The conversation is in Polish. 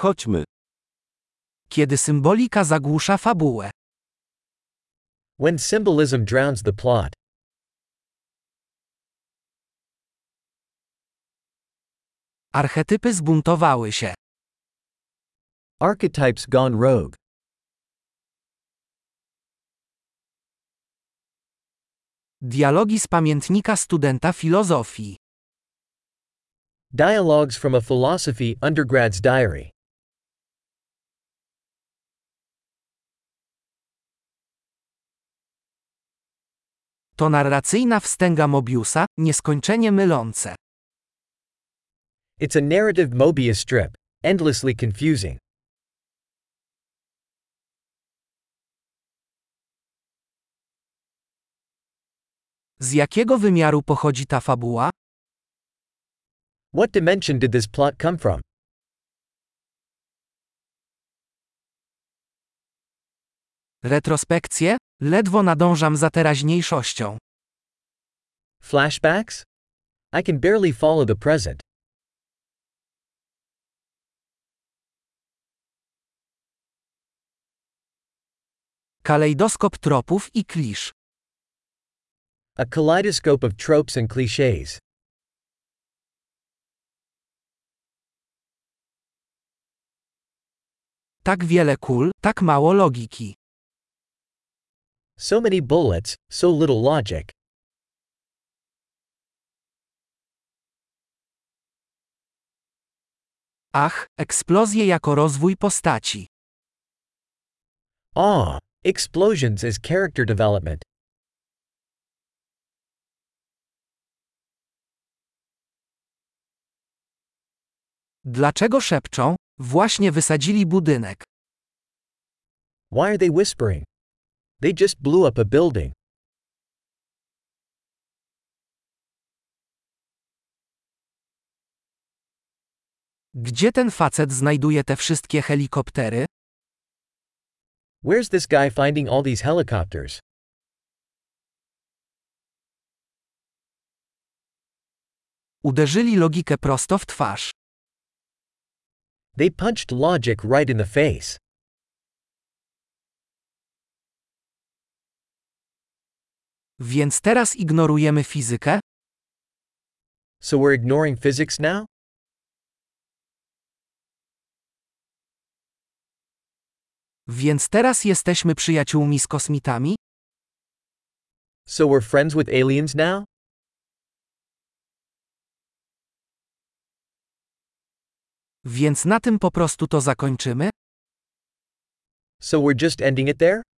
Chodźmy. Kiedy symbolika zagłusza fabułę. When symbolism drowns the plot. Archetypy zbuntowały się. Archetypes gone rogue. Dialogi z pamiętnika studenta filozofii. Dialogues from a philosophy undergrad's diary. To narracyjna wstęga Mobiusa, nieskończenie mylące. It's a narrative Mobius strip, endlessly confusing. Z jakiego wymiaru pochodzi ta fabuła? What dimension did this plot come from? Retrospekcje? Ledwo nadążam za teraźniejszością. Flashbacks? I can barely follow the present. Kalejdoskop tropów i klisz. A kaleidoscope of tropes and clichés. Tak wiele kul, tak mało logiki. So many bullets, so little logic. Ach, eksplozje jako rozwój postaci. Explosions as character development. Dlaczego szepczą? Właśnie wysadzili budynek. Why are they whispering? They just blew up a building. Gdzie ten facet znajduje te wszystkie helikoptery? Where's this guy finding all these helicopters? Uderzyli logikę prosto w twarz. They punched logic right in the face. Więc teraz ignorujemy fizykę? So we're ignoring physics now? Więc teraz jesteśmy przyjaciółmi z kosmitami? So we're friends with aliens now? Więc na tym po prostu to zakończymy? So we're just ending it there?